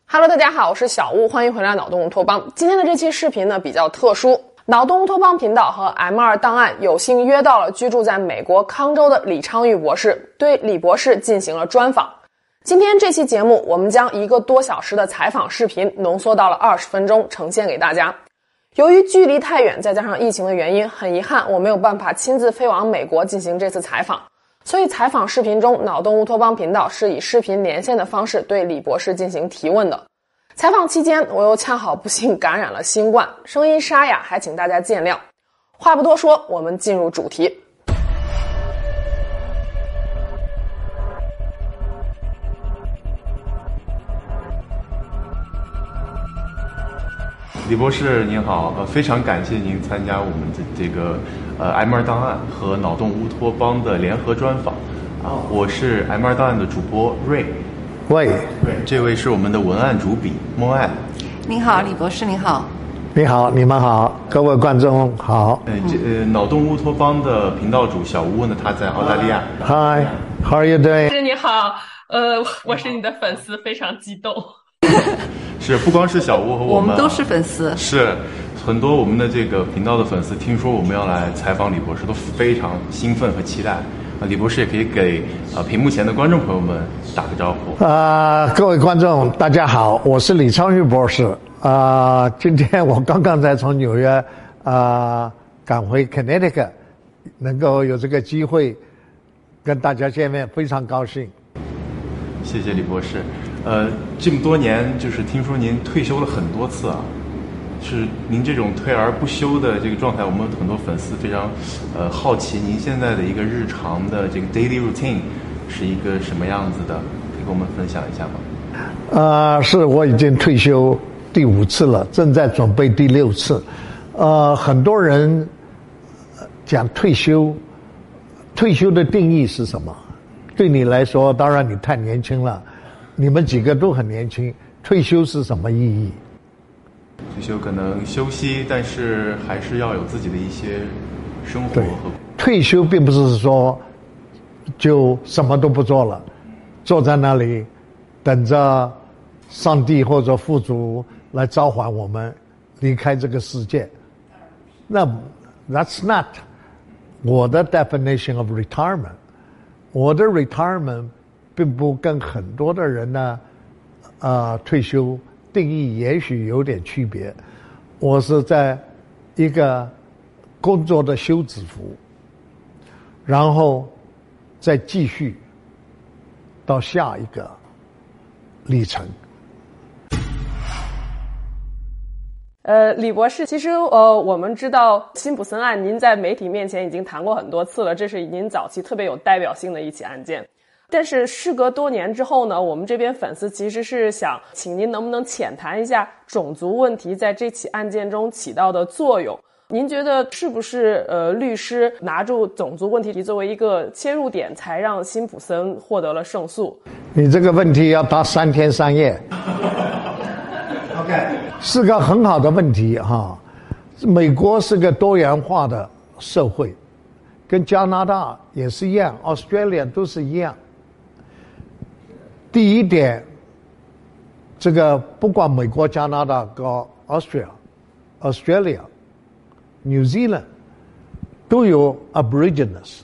Hello， 大家好，我是小屋，欢迎回来脑洞乌托邦。今天的这期视频呢比较特殊，脑洞乌托邦频道和 M2 档案有幸约到了居住在美国康州的李昌钰博士，对李博士进行了专访。今天这期节目，我们将1个多小时的采访视频浓缩到了20分钟，呈现给大家。由于距离太远，再加上疫情的原因，很遗憾我没有办法亲自飞往美国进行这次采访。所以采访视频中，脑洞乌托邦频道是以视频连线的方式对李博士进行提问的。采访期间，我又恰好不幸感染了新冠，声音沙哑，还请大家见谅。话不多说，我们进入主题。 李博士您好，非常感谢您参加我们的这个M2 档案和脑洞乌托邦的联合专访。我是 M2 档案的主播瑞。 喂， 这位是我们的文案主笔莫爱。 您好，李博士您好。 你好，你们好，各位观众好。 脑洞乌托邦的频道主小屋呢，他在澳大利亚。 Hi, how are you doing？ 你好，我是你的粉丝，非常激动。 是，不光是小屋和我们都是粉丝。 是，很多我们的这个频道的粉丝听说我们要来采访李博士，都非常兴奋和期待。李博士也可以给屏幕前的观众朋友们打个招呼。 各位观众大家好，我是李昌钰博士。今天我刚刚才从纽约赶回 Connecticut， 能够有这个机会跟大家见面，非常高兴。 谢谢李博士。这么多年，就是听说您退休了很多次啊，是您这种退而不休的这个状态，我们很多粉丝非常好奇您现在的一个日常的这个 daily routine 是一个什么样子的，可以跟我们分享一下吗？ 是，我已经退休第5次了，正在准备第6次。很多人讲退休的定义是什么？对你来说，当然你太年轻了，你们几个都很年轻，退休是什么意义？ 退休可能休息，但是还是要有自己的一些生活。 对，退休并不是说就什么都不做了，坐在那里等着上帝或者父主来召唤我们离开这个世界。那 that's not 我的 definition of retirement。我的 retirement 并不跟很多的人呢退休定义也许有点区别。我是在一个工作的休止符，然后再继续到下一个历程。 李博士，其实我们知道辛普森案，您在媒体面前已经谈过很多次了，这是您早期特别有代表性的一起案件。但是事隔多年之后呢，我们这边粉丝其实是想请您能不能浅谈一下种族问题在这起案件中起到的作用。您觉得是不是律师拿住种族问题作为一个切入点，才让辛普森获得了胜诉？ 你这个问题要答3天3夜。是个很好的问题哈。美国是个多元化的社会，跟加拿大也是一样， Australia 都是一样。第一点，这个不管美国、加拿大跟 Australia、New Zealand 都有 Aborigines。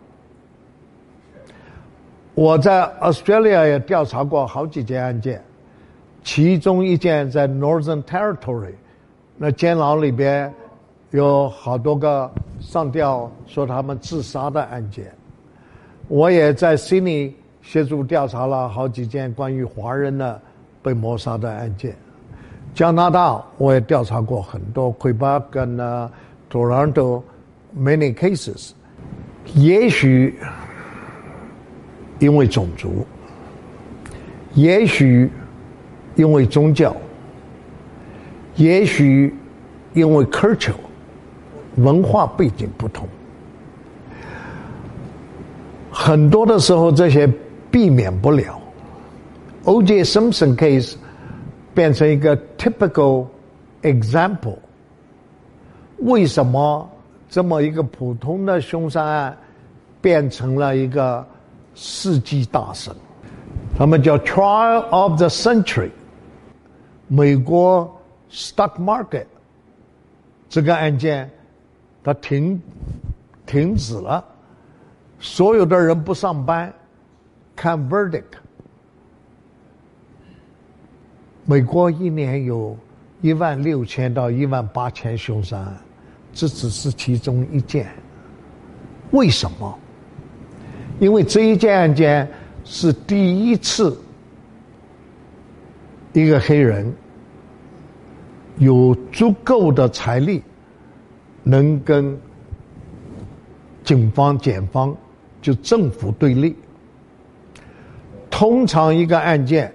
我在 Australia 也调查过好几件案件，其中一件在 Northern Territory， 那监牢里边有好多个上吊说他们自杀的案件。我也在 Sydney 协助调查了好几件关于华人的被谋杀的案件。加拿大我也调查过很多 Quebec 跟Toronto many cases。也许因为种族，也许因为宗教，也许因为 culture 文化背景不同，很多的时候这些避免不了。O.J. Simpson case 变成一个 typical example。为什么这么一个普通的凶杀案变成了一个世纪大审？他们叫 Trial of the Century。 美国 stock market 这个案件它停止了，所有的人不上班看 verdict。美国一年有16000到18000凶杀案，这只是其中一件。为什么？因为这一件案件是第一次一个黑人有足够的财力能跟警方检方就政府对立。通常一个案件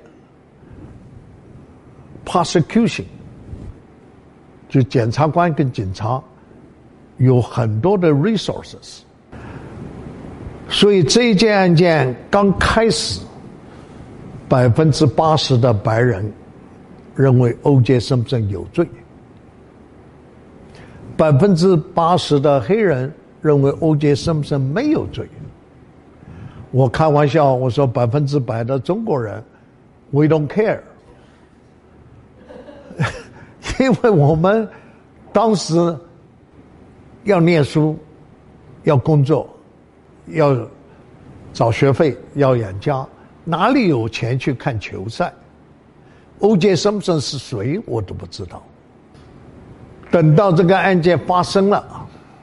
prosecution 就检察官跟警察有很多的 resources， 所以这一件案件刚开始80%的白人认为 O.J. Simpson 有罪，80%的黑人认为 O.J. Simpson 没有罪。我开玩笑，我说100%的中国人 we don't care 因为我们当时要念书，要工作，要找学费，要养家，哪里有钱去看球赛？ O.J. Simpson 是谁我都不知道。等到这个案件发生了，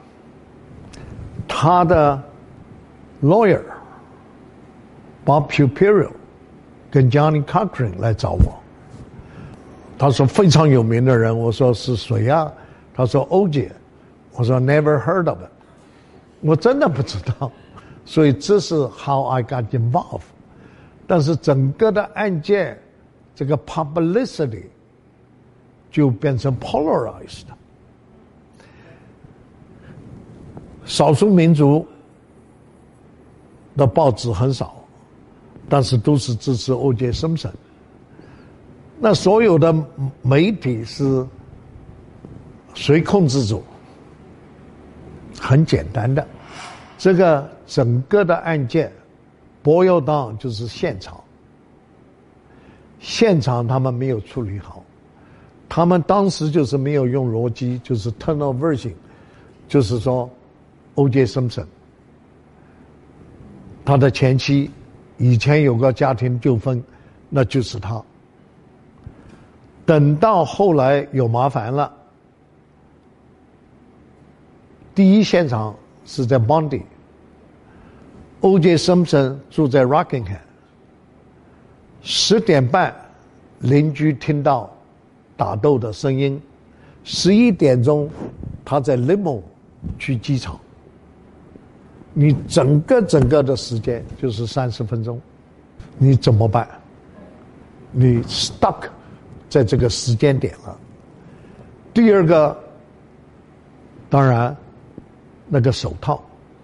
他的 lawyer Bob Shapiro 跟 Johnny Cochran 来找我，他说非常有名的人，我说是谁啊？他说 O.J. 我说 never heard of it， 我真的不知道。所以这是 how I got involved。 但是整个的案件这个 publicity 就变成 polarized。 少数民族的报纸很少，但是都是支持 O.J. Simpson。 那所有的媒体是谁控制住？很简单的，这个整个的案件 boil down 就是现场他们没有处理好，他们当时就是没有用逻辑，就是 tunnel vision， 就是说 O.J. Simpson 他的前妻以前有个家庭纠纷，那就是他。等到后来有麻烦了，第一现场是在 Bondi， O.J. Simpson 住在 Rockingham， 10点半邻居听到打斗的声音，11点钟他在 limo 去机场，你整个的时间就是30分钟，你怎么办？你 stuck 在这个时间点了。第二个，当然那个手套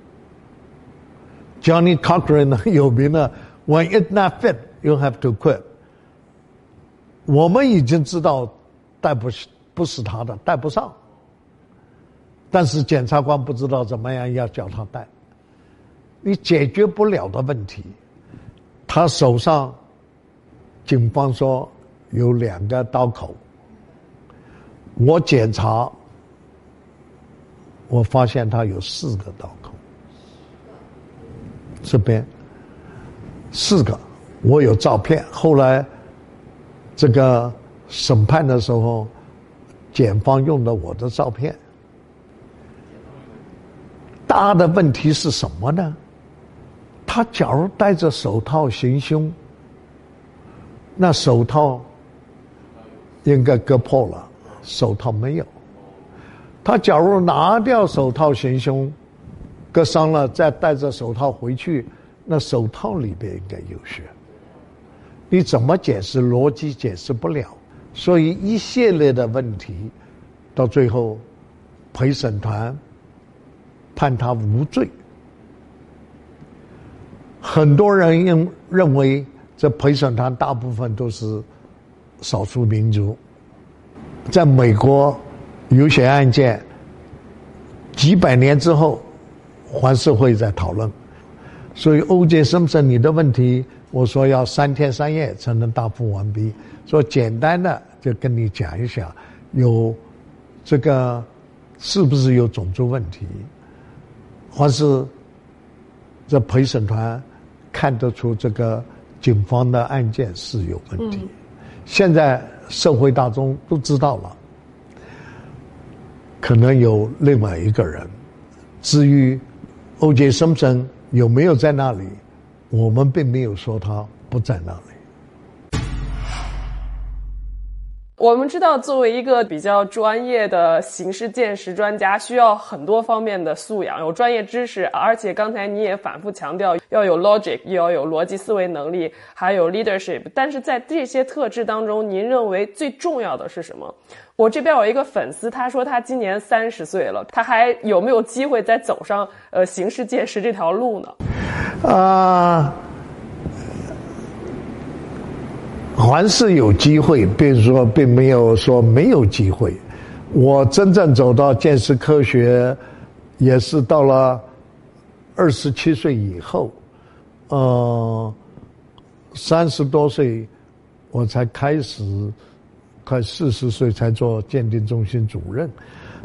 Johnny Cochran 很有名的 When it not fit, you have to quit。 我们已经知道不是他的，戴不上，但是检察官不知道怎么样要叫他戴。你解决不了的问题，他手上警方说有2个刀口，我检查我发现他有4个刀口，这边4个，我有照片。后来这个审判的时候，检方用了我的照片。大的问题是什么呢？他假如戴着手套行凶，那手套应该割破了，手套没有。他假如拿掉手套行凶，割伤了，再戴着手套回去，那手套里边应该有血。你怎么解释？逻辑解释不了。所以一系列的问题，到最后陪审团判他无罪。很多人认为这陪审团大部分都是少数民族。在美国有些案件几百年之后还是会在讨论。所以 O.J. Simpson 你的问题我说要3天3夜才能答复完毕。说简单的就跟你讲一下，有这个是不是有种族问题，或是这陪审团看得出这个警方的案件是有问题。现在社会大众都知道了，可能有另外一个人。至于 O.J. Simpson 有没有在那里，我们并没有说他不在那里。 我们知道，作为一个比较专业的刑事鉴识专家，需要很多方面的素养，有专业知识，而且刚才你也反复强调要有 logic， 要有逻辑思维能力，还有 leadership。但是在这些特质当中，您认为最重要的是什么？我这边有一个粉丝，他说他今年30岁了，他还有没有机会再走上刑事鉴识这条路呢？ 还是有机会，比如说并没有说没有机会。我真正走到鉴识科学也是到了27岁以后，30多岁我才开始，快40岁才做鉴定中心主任。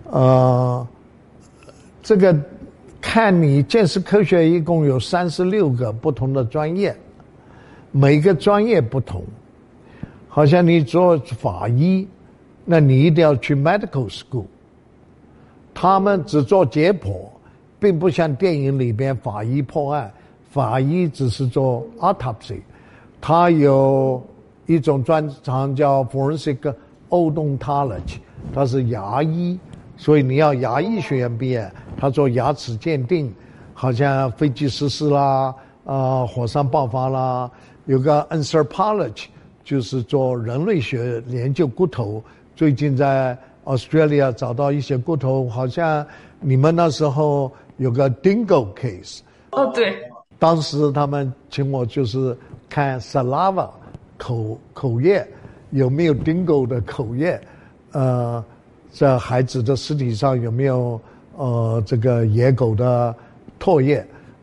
这个看你鉴识科学一共有36个不同的专业，每个专业不同。好像你做法医，那你一定要去 medical school。他们只做解剖，并不像电影里边法医破案，法医只是做 autopsy。他有一种专长叫 forensic odontology， 他是牙医，所以你要牙医学院毕业。他做牙齿鉴定，好像飞机失事啦，火山爆发啦，有个 anthropology。就是做人类学研究骨头，最近在 Australia 找到一些骨头，好像你们那时候有个 Dingo case。 对。 当时他们请我就是看 saliva 口液有没有 Dingo 的口液，在孩子的尸体上有没有这个野狗的唾液，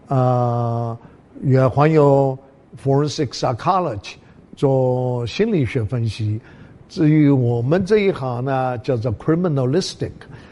也还有 forensic psychology。做心理学分析。至于我们这一行呢，叫做 criminalistic，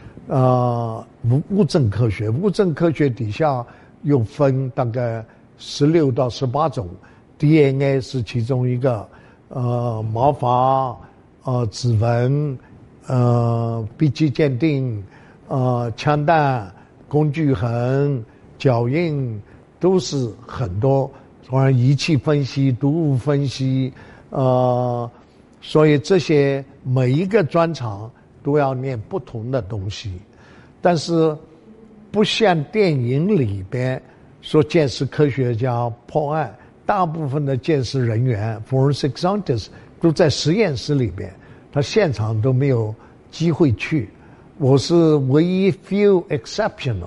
物证科学。物证科学底下又分大概16到18种 ，DNA 是其中一个，毛发，指纹，笔迹鉴定，枪弹、工具痕、脚印，都是很多。当然，仪器分析、毒物分析，所以这些每一个专长都要念不同的东西，但是不像电影里边说鉴识科学家破案，大部分的鉴识人员 forensic scientists 都在实验室里边，他现场都没有机会去。我是唯一 few exceptional，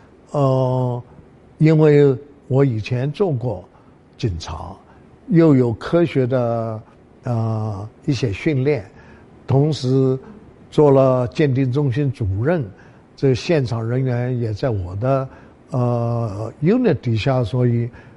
因为我以前做过警察，又有科学的一些训练，同时做了鉴定中心主任，这现场人员也在我的unit 底下，所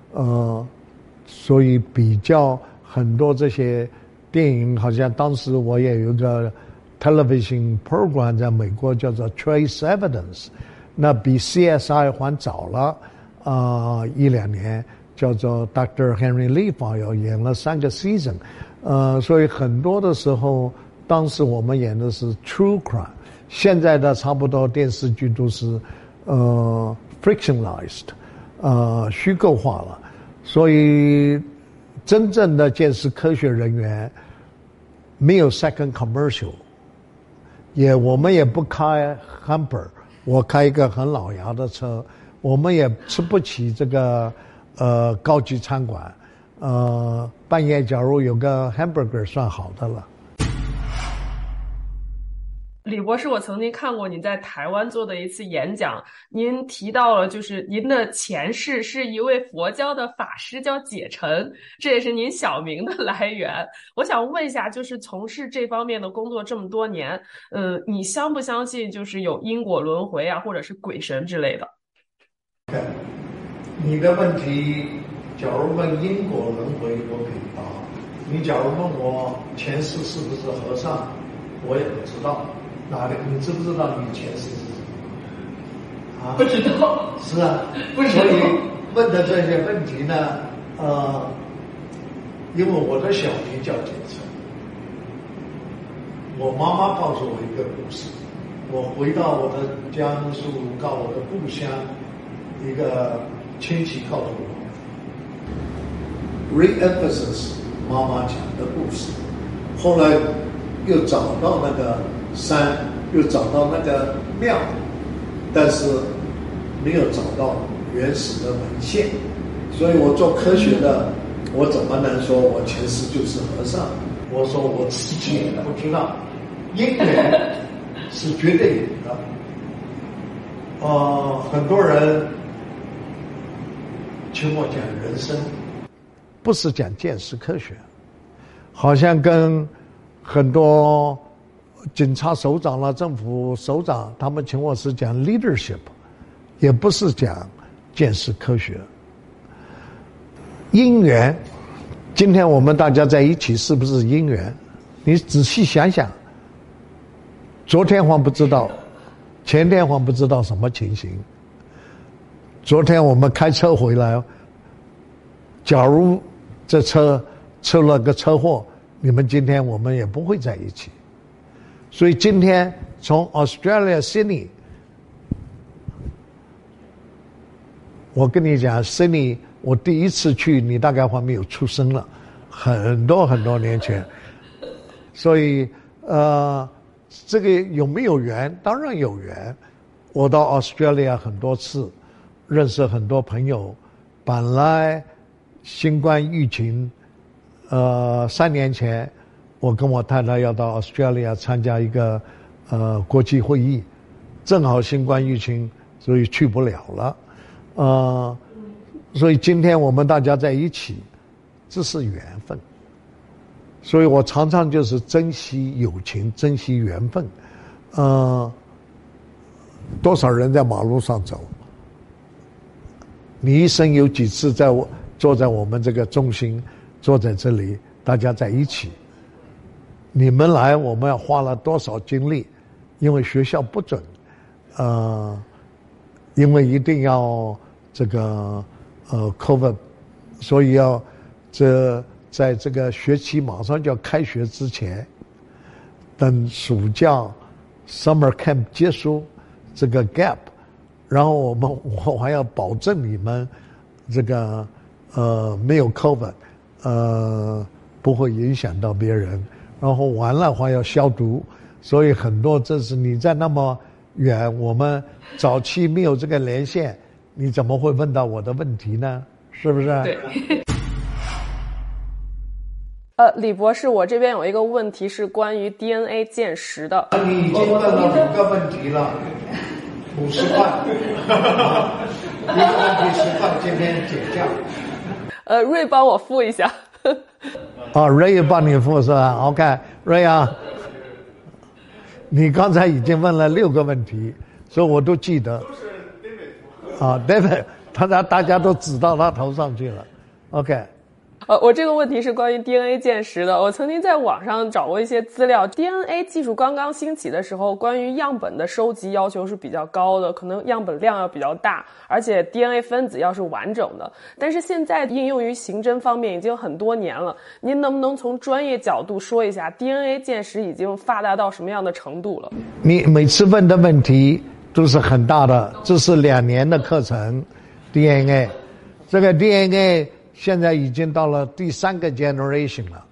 以比较很多这些电影，好像当时我也有一个 television program 在美国叫做 Trace Evidence， 那比 CSI 还早了1-2年。叫做 Dr. Henry Lee File 演了3个 season， 所以很多的时候，当时我们演的是 true crime， 现在的差不多电视剧都是fictionalized， 虚构化了，所以真正的鉴识科学人员没有 second commercial， 我们也不开 hamper， 我开一个很老牙的车，我们也吃不起这个高级餐馆，半夜假如有个 hamburger 算好的了。 李博士，我曾经看过您在台湾做的一次演讲，您提到了就是您的前世是一位佛教的法师，叫解尘，这也是您小名的来源。我想问一下，就是从事这方面的工作这么多年，你相不相信就是有因果轮回啊，或者是鬼神之类的？ 你的问题假如问因果轮回，我可以答；你假如问我前世是不是和尚，我也不知道。你知不知道你前世是什么？ 不知道。 是啊， 不知道。 所以问的这些问题呢，因为我的小名叫简称，我妈妈告诉我一个故事，我回到我的江苏，到我的故乡，一个亲戚告诉我 ，re-emphasis 妈妈讲的故事，后来又找到那个山，又找到那个庙，但是没有找到原始的文献，所以我做科学的，我怎么能说我前世就是和尚？我说我自己也不知道，因缘是绝对有的。很多人请我讲人生，不是讲见识科学，好像跟很多警察首长啦、政府首长，他们请我是讲 leadership， 也不是讲见识科学。因缘，今天我们大家在一起是不是因缘？你仔细想想，昨天还不知道，前天还不知道什么情形。昨天我们开车回来，假如这车出了个车祸，你们今天我们也不会在一起。所以今天从 Australia Sydney， 我跟你讲 Sydney， 我第一次去，你大概还没有出生了，很多很多年前。所以这个有没有缘？当然有缘。我到 Australia 很多次，认识很多朋友。本来新冠疫情3年前，我跟我太太要到 Australia 参加一个国际会议，正好新冠疫情，所以去不了了。所以今天我们大家在一起，这是缘分。所以我常常就是珍惜友情，珍惜缘分。多少人在马路上走，你一生有几次坐在我们这个中心，坐在这里，大家在一起。你们来，我们要花了多少精力？因为学校不准，因为一定要这个COVID， 所以要在这个学期马上就要开学之前，等暑假 summer camp 结束这个 gap， 然后我还要保证你们这个没有 COVID， 不会影响到别人，然后完了还要消毒，所以很多这是你在那么远，我们早期没有这个连线，你怎么会问到我的问题呢？是不是？ 对。 李博士，我这边有一个问题是关于 DNA 鉴识的。 你已经问了5个问题了，50块，一个问题10块，今天减价。 瑞帮我付一下。 瑞帮你付是吧 ？OK， 瑞啊，你刚才已经问了6个问题，所以我都记得。都是 David， 大家都指到他头上去了。OK。 我这个问题是关于 DNA 鉴识的。我曾经在网上找过一些资料 ，DNA 技术刚刚兴起的时候，关于样本的收集要求是比较高的，可能样本量要比较大，而且 DNA 分子要是完整的。但是现在应用于刑侦方面已经很多年了，您能不能从专业角度说一下 DNA 鉴识已经发达到什么样的程度了？ 你每次问的问题都是很大的，这是2年的课程 DNA， 这个 DNA。现在已经到了第3个 generation 了，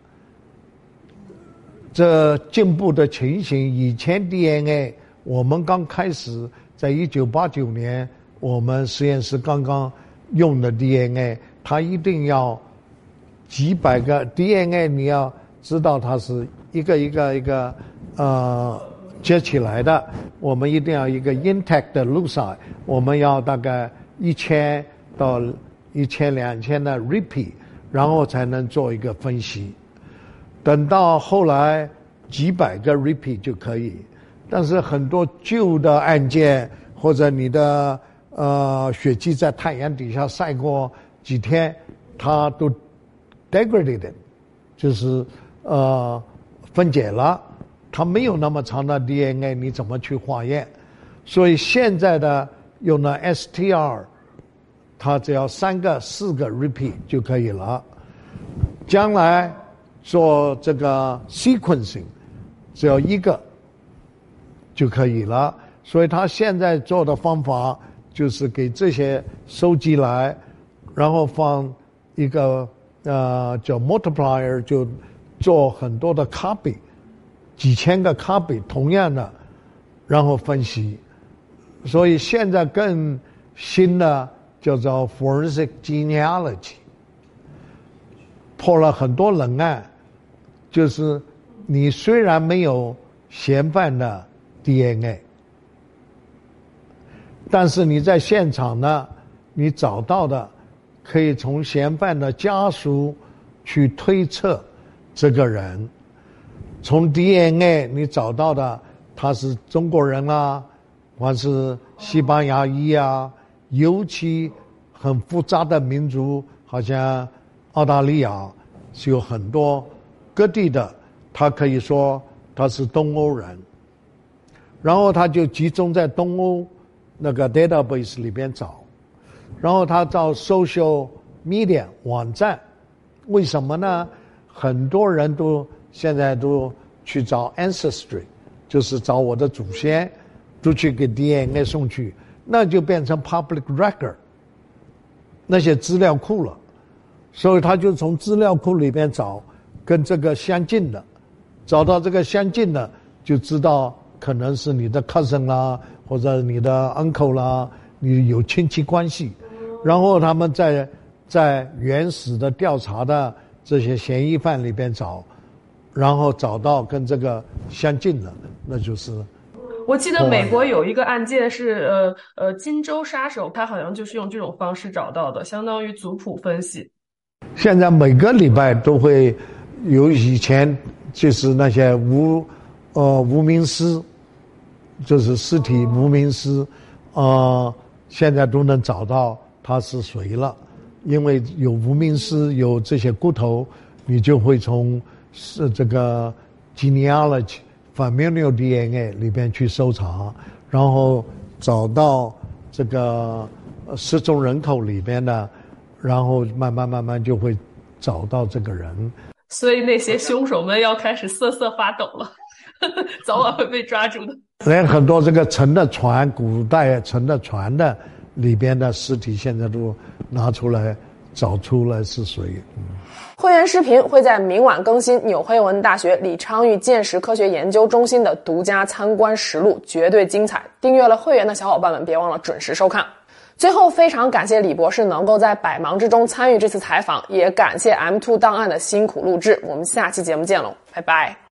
这进步的情形，以前 DNA 我们刚开始在1989年，我们实验室刚刚用的 DNA， 它一定要几百个 DNA， 你要知道它是一个接起来的，我们一定要一个 intact 的 loci， 我们要大概1000到1000-2000的 repeat， 然后才能做一个分析。等到后来几百个 repeat 就可以，但是很多旧的案件或者你的血迹在太阳底下晒过几天， 它都 degraded， 就是分解了，它没有那么长的 DNA， 你怎么去化验？所以现在的用了 STR， 它只要3个4个 repeat 就可以了。将来做这个 sequencing， 只要1个就可以了。所以他现在做的方法就是给这些收集来，然后放一个叫 multiplier， 就做很多的 copy， 几千个 copy 同样的，然后分析。所以现在更新的叫做 forensic genealogy， 破了很多人案，就是你虽然没有嫌犯的 DNA， 但是你在现场呢，你找到的可以从嫌犯的家属去推测这个人，从 DNA 你找到的他是中国人啊，或是西班牙裔啊，尤其很复杂的民族，好像澳大利亚是有很多各地的，他可以说他是东欧人，然后他就集中在东欧那个 database 里边找，然后他到 social media 网站，为什么呢？很多人都现在都去找 ancestry， 就是找我的祖先，都去给 DNA 送去，那就变成 public record， 那些资料库了。所以他就从资料库里边找跟这个相近的，找到这个相近的，就知道可能是你的 cousin 啦，或者你的 uncle 啦，你有亲戚关系。然后他们在原始的调查的这些嫌疑犯里边找，然后找到跟这个相近的，那就是。 我记得美国有一个案件是金州杀手，他好像就是用这种方式找到的，相当于族谱分析。 现在每个礼拜都会有，以前就是那些无名尸，就是尸体无名尸，现在都能找到他是谁了，因为有无名尸，有这些骨头，你就会从这个 genealogy、familial DNA 里边去搜查，然后找到这个失踪人口里边的，然后慢慢就会找到这个人。 所以那些凶手们要开始瑟瑟发抖了，早晚会被抓住的。 连很多这个沉的船，古代沉的船的里边的尸体，现在都拿出来找出来是谁。 会员视频会在明晚更新纽黑文大学李昌钰鉴识科学研究中心的独家参观实录，绝对精彩。订阅了会员的小伙伴们，别忘了准时收看。最后，非常感谢李博士能够在百忙之中参与这次采访，也感谢 M2 档案的辛苦录制。我们下期节目见喽，拜拜。